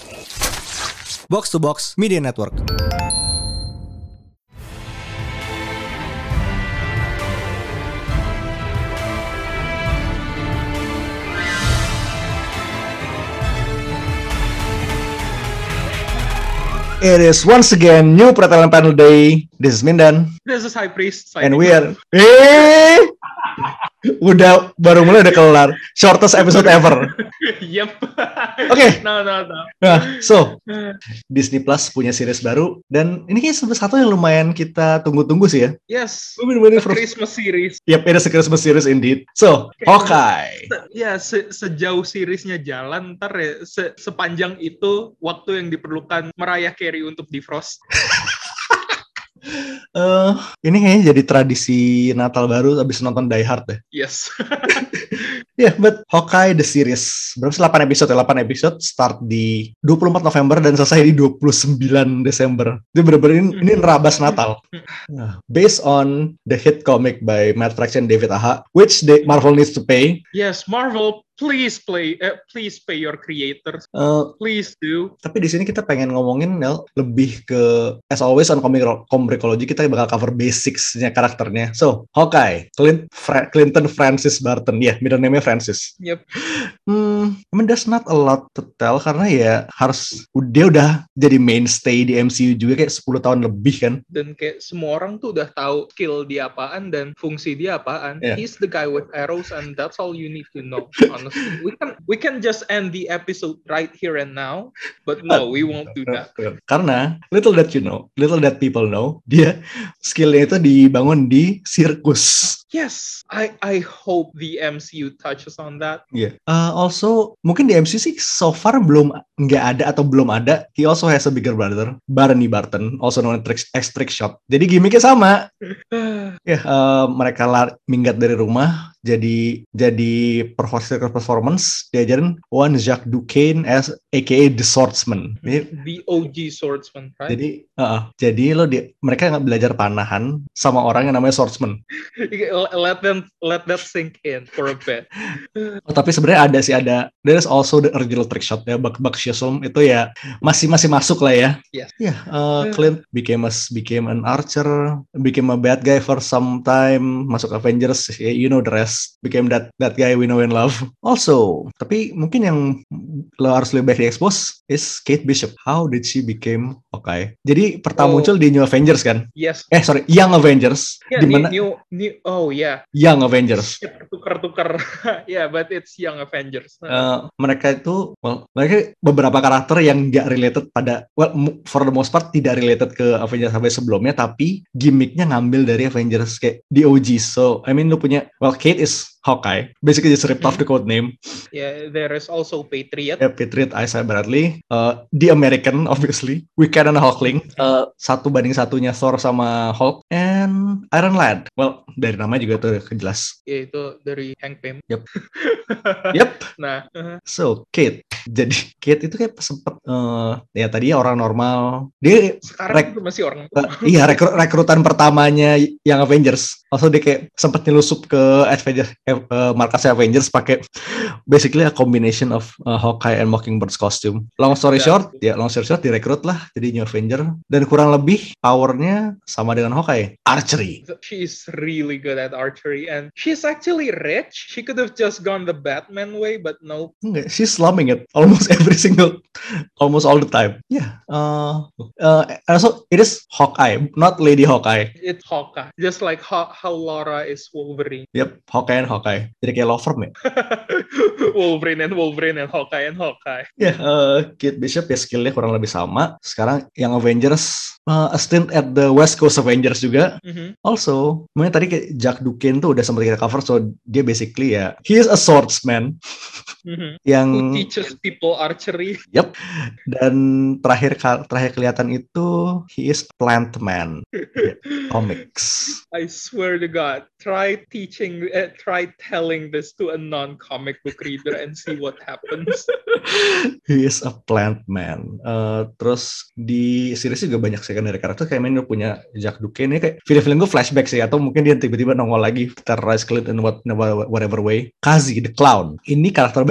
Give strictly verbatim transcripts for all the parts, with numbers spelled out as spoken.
Box to Box Media Network. It is once again new Pretelan Panel Day. This is Mindan. This is High Priest. And we are... Eh, udah baru mulai udah kelar. Shortest episode ever. Yep. Oke. Okay. No, no, no. Nah, so Disney Plus punya series baru dan ini kayak salah satu yang lumayan kita tunggu-tunggu sih ya. Yes. A for... Christmas series. Yep, it is a Christmas series indeed. So, okay. Hawkeye. Se- ya, se- sejauh seriesnya jalan, ntar ya, se- sepanjang itu waktu yang diperlukan Mariah Carey untuk defrost. Uh, ini kayaknya jadi tradisi Natal baru abis nonton Die Hard deh. Yes. Ya, yeah, but Hawkeye the series berapa sih? delapan episode ya? delapan episode start di dua puluh empat November dan selesai di dua puluh sembilan Desember. Itu bener-bener ini, ini nerabas Natal. Nah, based on the hit comic by Matt Fraction and David Aja, which they, Marvel needs to pay. Yes, Marvel, please play, uh, please pay your creators. Uh, please do. Tapi di sini kita pengen ngomongin Nel, lebih ke as always on comic comicology, kita bakal cover basicsnya karakternya. So, Hawkeye, Clint, Fra- Clinton Francis Barton, ya, yeah, middle name-nya Francis. Yep. Hmm, I mean there's not a lot to tell karena ya harus dia udah jadi mainstay di M C U juga kayak sepuluh tahun lebih kan. Dan kayak semua orang tuh udah tahu skill dia apaan dan fungsi dia apaan. Yeah. He's the guy with arrows and that's all you need to know. Honestly, we can we can just end the episode right here and now, but no, we won't do that. Karena little that you know, little that people know, dia skillnya itu dibangun di sirkus. Yes, I I hope the M C U touches on that. Yeah. Uh, also, mungkin di M C U sih so far belum nggak ada atau belum ada. He also has a bigger brother, Barney Barton, also known as Trickshot. Jadi gimmicknya sama. Ya, yeah, uh, mereka lar- minggat dari rumah. Jadi jadi performance diajarin one Jacques Duquesne as A K A the Swordsman. The O G Swordsman, right? Jadi, uh, jadi lo di, mereka nggak belajar panahan sama orang yang namanya Swordsman. Let them let that sink in for a bit. Oh, tapi sebenarnya ada sih ada. There is also the original Trickshot ya, Buck Buck Shazam itu ya masih masih masuk lah ya. Yes. Ya, yeah, uh, Clint became a became an archer, became a bad guy for some time, masuk Avengers, yeah, you know the rest. Became that that guy we know and love. Also, tapi mungkin yang lo harus lebih baik di-expose is Kate Bishop. How did she become Hawkeye? Jadi pertama oh. muncul di New Avengers kan? Yes. Eh sorry, Young Avengers. Yeah, di mana? New, new, oh yeah. Young Avengers. Tukar-tukar. Yeah, but it's Young Avengers. Uh, mereka itu, well, mereka beberapa karakter yang nggak related pada, well, for the most part tidak related ke Avengers sampai sebelumnya, tapi gimmicknya ngambil dari Avengers kayak di O G. So, I mean, lu punya, well, Kate is Hawkeye, basically just ripped mm-hmm. off the code name. Yeah, there is also Patriot. Yeah, Patriot, Isaiah Bradley, uh, the American, obviously, Wiccan and Hulkling, uh, satu banding satunya Thor sama Hulk, and Iron Lad. Well, dari nama juga tuh jelas. Ya yeah, itu dari Hank Pym. Yep. Yep. Nah, uh-huh. So Kate, jadi Kate itu kayak sempet, uh, ya tadinya orang normal. Dia sekarang rek- masih orang. Uh, iya, rekru- rekrutan pertamanya yang Avengers. Also dia kayak sempet nyelusup ke Avengers. Uh, markasnya Avengers pakai basically a combination of uh, Hawkeye and Mockingbird's costume. Long story yeah. short, ya long story short direkrut lah jadi New Avenger dan kurang lebih powernya sama dengan Hawkeye, archery. She's really good at archery and she's actually rich. She could have just gone the Batman way, but no. Enggak, she's slumming it almost every single, almost all the time. Yeah. Uh, uh, also it is Hawkeye, not Lady Hawkeye. It's Hawkeye, just like how, how Laura is Wolverine. Yep, Hawkeye and Hawkeye. Jadi kayak law firm ya. Wolverine and Wolverine and Hawkeye and Hawkeye. Ya, yeah, uh, Kate Bishop ya skillnya kurang lebih sama. Sekarang yang Avengers, uh, a stint at the West Coast Avengers juga. Mm-hmm. Also, mungkin tadi kayak Jack Duquesne tuh udah sempat kita cover, so dia basically ya, he is a swordsman. Mm-hmm. Yang who teaches people archery. Yep. Dan terakhir terakhir kelihatan itu he is plant man. Comics. I swear to God, try teaching, uh, try telling this to a non-comic book reader and see what happens. He is a plant man. Uh, terus di series juga banyak secondary karakter kayak main punya Jack Duquesne. Ini kayak film-film gue flashback sih, atau mungkin dia tiba-tiba nongol lagi terrorize Clint in what, whatever way. Kazi the Clown. Ini karakter baru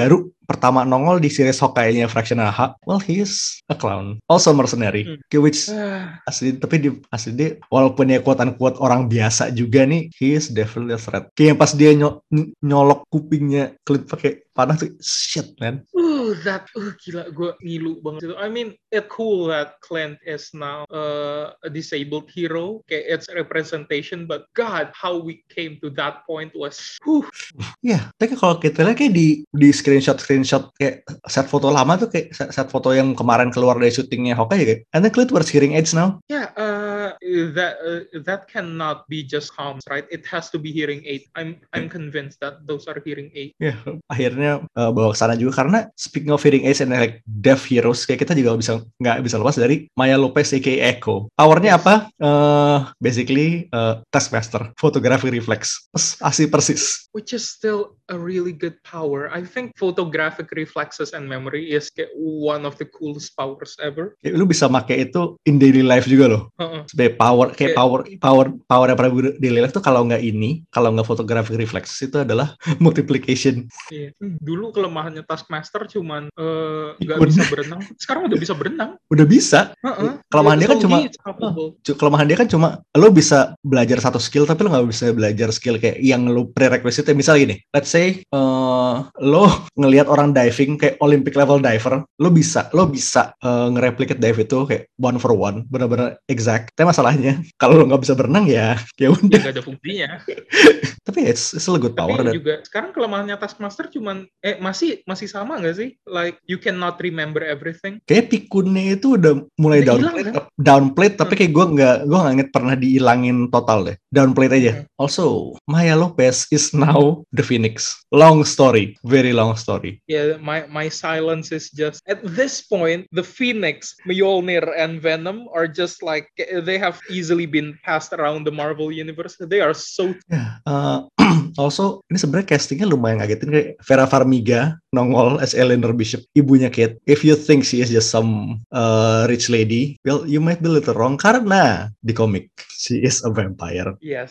pertama nongol di series Hawkeye-nya Fraction A H, well he is a clown, also mercenary, hmm. which asli tapi di asli dia walaupun ya quote-unquote orang biasa juga nih, he is definitely a threat. Kayak pas dia ny- nyolok kupingnya Clint pakai panah tuh, shit man. Uh, that uh, gila, gue ngilu banget itu. I mean, it's cool that Clint is now uh, a disabled hero. Kayak it's representation, but God, how we came to that point was, whew. Ya, yeah, tapi kalau kita lihat kayak di di screenshot screenshot kayak set foto lama tuh kayak set, set foto yang kemarin keluar dari syutingnya Hawkeye kayak, and then Clint wears hearing aids now. Yeah, uh, that uh, that cannot be just comms, right? It has to be hearing aid. I'm I'm convinced that those are hearing aid. Ya, yeah, akhirnya uh, bawa ke sana juga karena speaking of hearing aids and like deaf heroes, kayak kita juga bisa nggak bisa lepas dari Maya Lopez aka Echo. Powernya yes. apa? Uh, basically uh, Taskmaster, photography reflex, asli persis. Which is still a really good power. I think photographic reflexes and memory is one of the coolest powers ever. Kayak lu bisa pakai itu in daily life juga loh. Uh-uh. Sebagai power, kayak yeah. power, power, power yang pernah gue daily life tuh kalau nggak ini, kalau nggak photographic reflexes itu adalah multiplication. Yeah. Dulu kelemahannya Taskmaster cuman nggak uh, bisa berenang. Sekarang udah bisa berenang. Udah bisa. Uh-uh. Kelemahan yeah, dia kan cuma, uh, kelemahan dia kan cuma, lo bisa belajar satu skill tapi lo nggak bisa belajar skill kayak yang lo prerequisite. Misalnya gini, let's say uh, lo ngelihat orang diving kayak Olympic level diver, lo bisa lo bisa uh, nge-replicate dive itu kayak one for one, benar-benar exact. Tapi masalahnya kalau lo nggak bisa berenang ya, ya udah. Nggak ada fungsinya. Tapi it's, it's still a good power. Tapi dan juga sekarang kelemahannya Taskmaster cuman eh masih masih sama nggak sih? Like you cannot remember everything. Kayak pikunnya itu udah mulai udah downplate, hilang, kan? downplate. Tapi kayak gue nggak gue nggak inget pernah dihilangin total deh. Downplate aja. Hmm. Also, Maya Lopez is now the Phoenix. Long story, very long story. Yeah, my my silence is just at this point the Phoenix, Mjolnir, and Venom are just like they have easily been passed around the Marvel universe. They are so. Yeah. Uh, also, ini sebenarnya castingnya lumayan ngagetin kayak Vera Farmiga nongol as Eleanor Bishop, ibunya Kate. If you think she is just some uh, rich lady, well, you might be a little wrong karena di komik she is a vampire. Yes.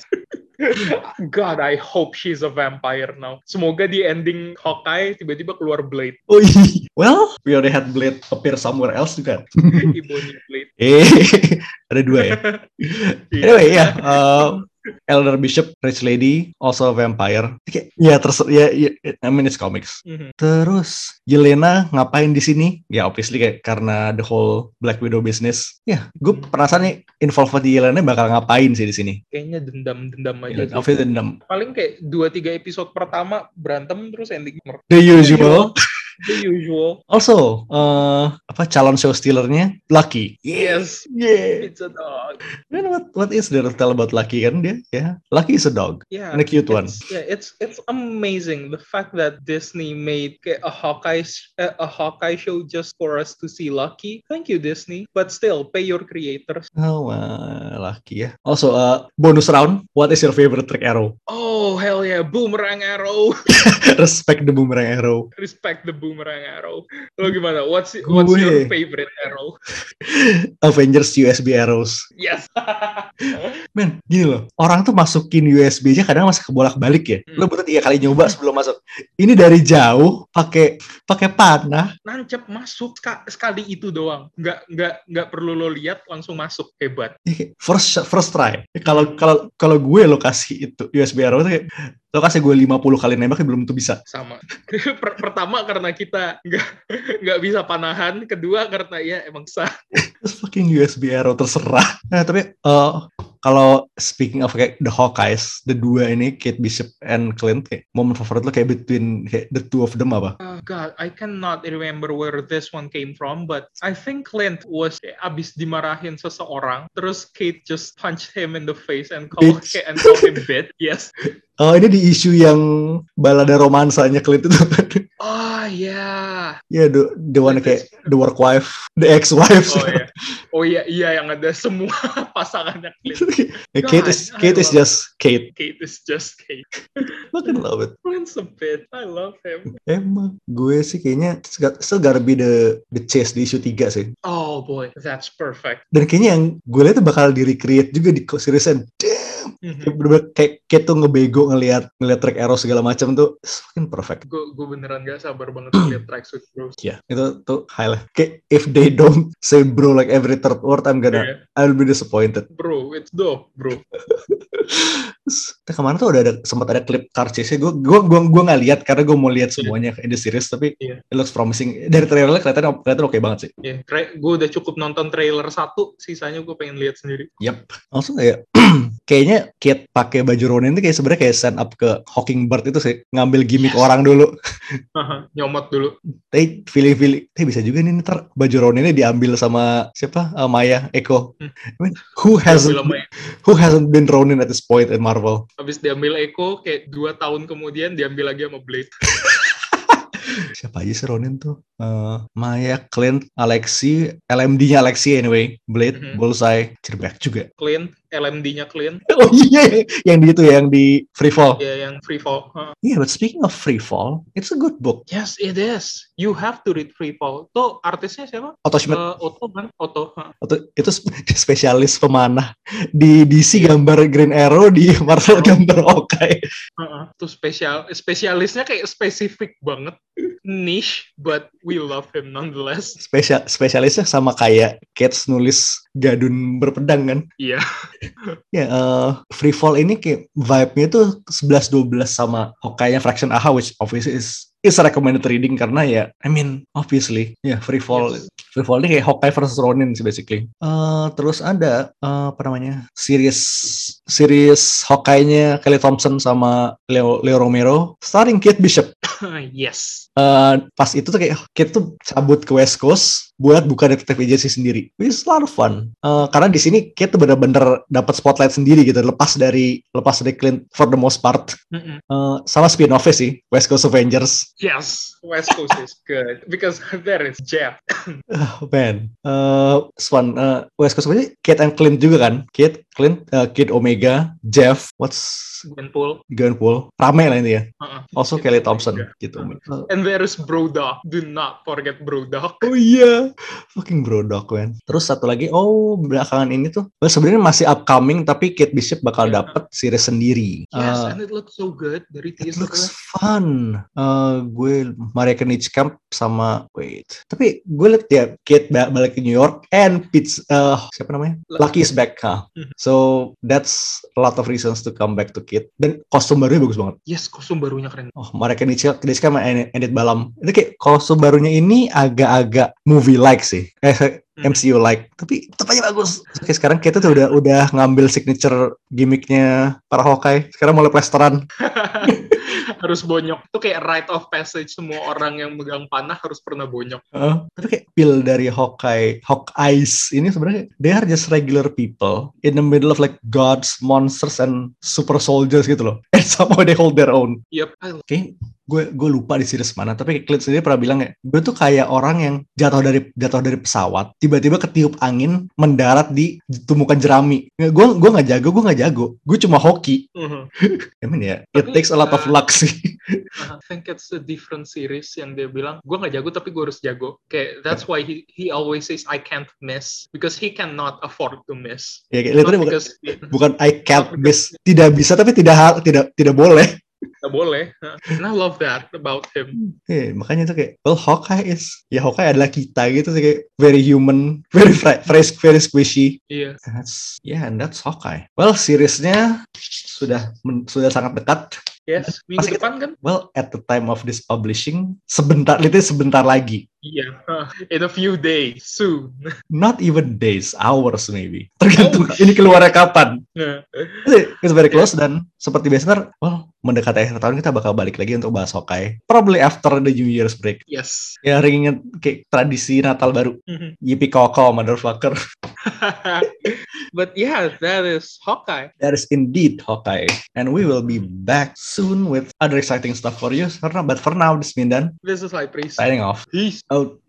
God, I hope she's a vampire now. Semoga di ending Hawkeye tiba-tiba keluar Blade. Oh iya. Well, we already had Blade appear somewhere else juga. Ibunya Blade. Eh, ada dua ya. Anyway, ya. Yeah, uh, Eleanor Bishop, rich lady, also a vampire. Okay. Ya, terus ya, ya, I mean it's comics. Mm-hmm. Terus Yelena ngapain di sini? Ya, obviously kayak karena the whole Black Widow business. Ya, gue penasaran nih involved di Yelena bakal ngapain sih di sini? Kayaknya dendam-dendam aja. Yeah, obviously dendam. Paling kayak dua tiga episode pertama berantem terus ending. The usual. The usual. Also, uh, apa calon show stealernya Lucky. Yes. Yeah. It's a dog. And what what is there to tell about Lucky kan dia? Yeah. Lucky is a dog. Yeah. And a cute one. Yeah, it's it's amazing the fact that Disney made a Hawkeye a Hawkeye show just for us to see Lucky. Thank you Disney, but still pay your creators. Oh, uh, Lucky ya. Also, uh, bonus round. What is your favorite trick arrow? Oh hell yeah, boomerang arrow. Respect the boomerang arrow. Respect the boomerang arrow. Lo gimana? What's what's Gue. your favorite arrow? Avengers U S B arrows. Yes. Men, gini loh. Orang tuh masukin U S B aja kadang masih kebolak-balik ya. Hmm. Lo butuh tiga kali nyoba sebelum masuk. Ini dari jauh pakai pakai panah. Nancep masuk sekali itu doang. Nggak nggak nggak perlu lo lihat langsung masuk. Hebat. First first try. Kalau kalau kalau gue lo kasih itu U S B arrow itu kayak lo kasih gue lima puluh kali nembak belum tuh bisa. Sama. Pertama karena kita nggak nggak bisa panahan, kedua karena ya emang sah. Terus fucking U S B arrow terserah. Nah, tapi uh, kalau speaking of kayak the Hawkeyes, the dua ini Kate Bishop and Clint, kayak momen favorit lo kayak between kayak the two of them apa? Uh, God, I cannot remember where this one came from, but I think Clint was kayak abis dimarahin seseorang, terus Kate just punched him in the face and called and called him bitch. Yes. Oh, ini di isu yang balada romansanya Clint itu. Oh, yeah. Yeah, the, the one kayak the work wife, the ex-wife. Oh, yeah. Oh, iya, iya yang ada semua pasangannya Clint. God, Kate is, Kate is just Kate. Kate is just Kate. Fucking love it. Clint's a bit. I love him. Emang, gue sih kayaknya still gotta be the, the chase di isu tiga sih. Oh, boy. That's perfect. Dan kayaknya yang gue lihat tuh bakal di-recreate juga di series-nya. Damn. Bener-bener kayak Kate tuh ngebego ngelihat ngelihat track arrow segala macam tuh fucking perfect. Gue gue beneran gak sabar banget ngeliat tracksuit bros. Ya, yeah, itu tuh high lah. Kayak if they don't say bro like every third word, I'm gonna yeah. I'll be disappointed. Bro, it's dope, bro. Terus kemarin tuh udah ada sempat ada klip car chase-nya. Gue gue gue gue nggak lihat karena gue mau lihat semuanya yeah. in the series, tapi yeah. it looks promising. Dari trailernya kelihatan kelihatan oke okay banget sih. Iya, yeah. gue udah cukup nonton trailer satu, sisanya gue pengen lihat sendiri. Yap. Langsung kayak kayaknya Kate pakai baju Ronin itu kayak sebenarnya kayak stand up ke Hawkingbird itu sih, ngambil gimmick yes. orang dulu. Nyomot dulu. Tapi feeling-feeling, tapi bisa juga nih ntar baju Roninnya diambil sama siapa? Uh, Maya Echo. Hmm. I mean, who hasn't who hasn't been Ronin at this point in Marvel? Habis diambil Echo, kayak dua tahun kemudian diambil lagi sama Blade. Siapa aja sih Ronin tuh? Uh, Maya, Clint, Alexi, L M D-nya Alexi anyway, Blade, mm-hmm. Bullseye, Cirbek juga. Clint, L M D-nya Clint. Oh iya, yang di itu yang di Freefall. Iya, yeah, yang Freefall. Huh. Yeah, but speaking of Freefall, it's a good book. Yes, it is. You have to read Freefall. Tuh artisnya siapa? Otto Schmidt. Uh, Otto kan? Otto. Huh. Otto itu spesialis pemanah. Di D C yeah. gambar Green Arrow, di Marvel gambar Hawkeye. Uh-uh. Tuh spesial, spesialisnya kayak spesifik banget. Niche, but we love him nonetheless. Spesial, spesialisnya sama kayak Cats nulis Gadun berpedang kan? Iya. Ya, yeah, uh, Freefall ini kayak vibe-nya tuh eleven twelve sama Hawkeye-nya Fraction A H, which obviously is is recommended reading karena ya, I mean, obviously, ya yeah, Freefall. Yes. Freefall ini kayak Hawkeye versus Ronin sih basically. Uh, terus ada uh, apa namanya? Series series Hawkeye-nya Kelly Thompson sama Leo, Leo Romero starring Kate Bishop. Yes. Uh, pas itu tuh kayak Kate tuh cabut ke West Coast buat buka detektif agency sendiri. Which is a lot of fun. Uh, karena di sini Kate tuh bener-bener dapat spotlight sendiri gitu, lepas dari lepas dari Clint for the most part. Uh, sama spin-off-nya sih, West Coast Avengers. Yes, West Coast is good because there is Jeff. Oh man, uh, fun. Uh, West Coast Avengers, Kate and Clint juga kan? Kate, Clint, uh, Kid Omega, Jeff, what's Gwenpool. Gwenpool. Rame lah ini ya. Uh-uh. Also Kelly Thompson gitu. Uh-huh. And there is Brodok. Do not forget Brodok. Oh iya, fucking Brodok man. Terus satu lagi, oh belakangan ini tuh, well, sebenarnya masih upcoming tapi Kate Bishop bakal yeah. dapat series sendiri. Yes, uh, and it looks so good dari teaser. It looks fun. Uh, gue Maria Knightskamp sama wait. Tapi gue liat ya Kate balik ke New York and Pitts, uh, siapa namanya? Lucky is back. Huh? Mm-hmm. So that's a lot of reasons to come back to Kate. Dan kostum barunya bagus banget. Yes, kostum barunya keren. Oh, Maria Knightskamp sama Enid Balam. Itu kayak kostum barunya ini agak-agag movie-like sih. Eh, M C U-like. Tapi tetap aja bagus. Oke, sekarang Kate tuh udah udah ngambil signature gimmicknya para Hawkeye. Sekarang mulai plesteran. Harus bonyok. Itu kayak rite of passage. Semua orang yang megang panah harus pernah bonyok. Uh, tapi kayak pil dari Hawkeye, Hawkeyes ini sebenarnya they are just regular people in the middle of like gods, monsters, and super soldiers gitu loh. And somehow they hold their own. Yep. Oke. Okay. Gue gue lupa di series mana, tapi Clint sendiri pernah bilang ya, gue tuh kayak orang yang jatuh dari jatuh dari pesawat, tiba-tiba ketiup angin, mendarat di tumpukan jerami. Gue gue nggak jago, gue nggak jago, gue cuma hoki. Uh-huh. I mean ya, yeah, it takes a lot uh, of luck sih. I think it's a different series yang dia bilang, gue nggak jago tapi gue harus jago. Kayak that's why he he always says I can't miss because he cannot afford to miss. Ya, kayak literally bukan, bukan I can't miss, tidak bisa tapi tidak tidak tidak boleh. Nggak boleh. And I love that about him. Yeah, makanya tuh kayak, well, Hawkeye is, ya Hawkeye adalah kita gitu sih, kayak very human, very fresh, very squishy. Iya. Yeah. That's, yeah, and that's Hawkeye. Well, seriesnya sudah sudah sangat dekat. Yes, minggu Pasti depan kan? Well, at the time of this publishing, sebentar, itu sebentar lagi. Iya, yeah. In a few days, soon. Not even days, hours maybe. Tergantung oh. ini keluarnya kapan. Yeah. It's very close, yeah. Dan seperti biasa, well, mendekati akhir tahun kita bakal balik lagi untuk bahas Hawkeye. Probably after the New Year's break. Yes. Ya, ringan kayak tradisi Natal baru. Mm-hmm. Yippee koko, motherfucker. But yeah, that is Hawkeye. That is indeed Hawkeye. And we will be back soon with other exciting stuff for you. But for now, this is Mindan. This is High Priest. Signing off. Peace. Out.